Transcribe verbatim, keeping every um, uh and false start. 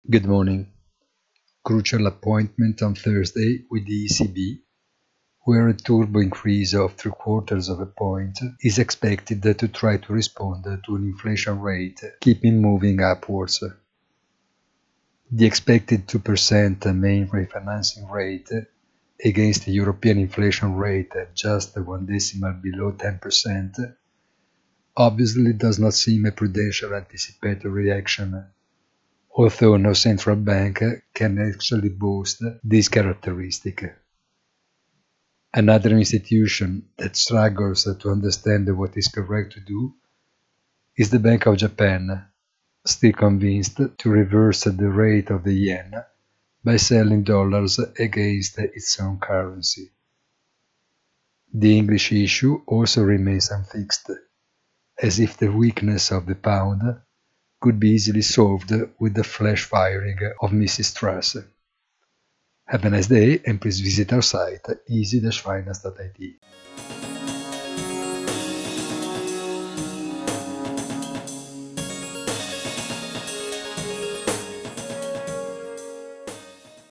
Good morning. Crucial appointment on Thursday with the E C B, where a turbo increase of three quarters of a point is expected to try to respond to an inflation rate keeping moving upwards. The expected two percent main refinancing rate against the European inflation rate at just one decimal below ten percent obviously does not seem a prudential anticipatory action, although no central bank can actually boast this characteristic. Another institution that struggles to understand what is correct to do is the Bank of Japan, still convinced to reverse the rate of the yen by selling dollars against its own currency. The English issue also remains unfixed, as if the weakness of the pound could be easily solved with the flash firing of Missus Truss. Have a nice day and please visit our site easy dash finance dot I T.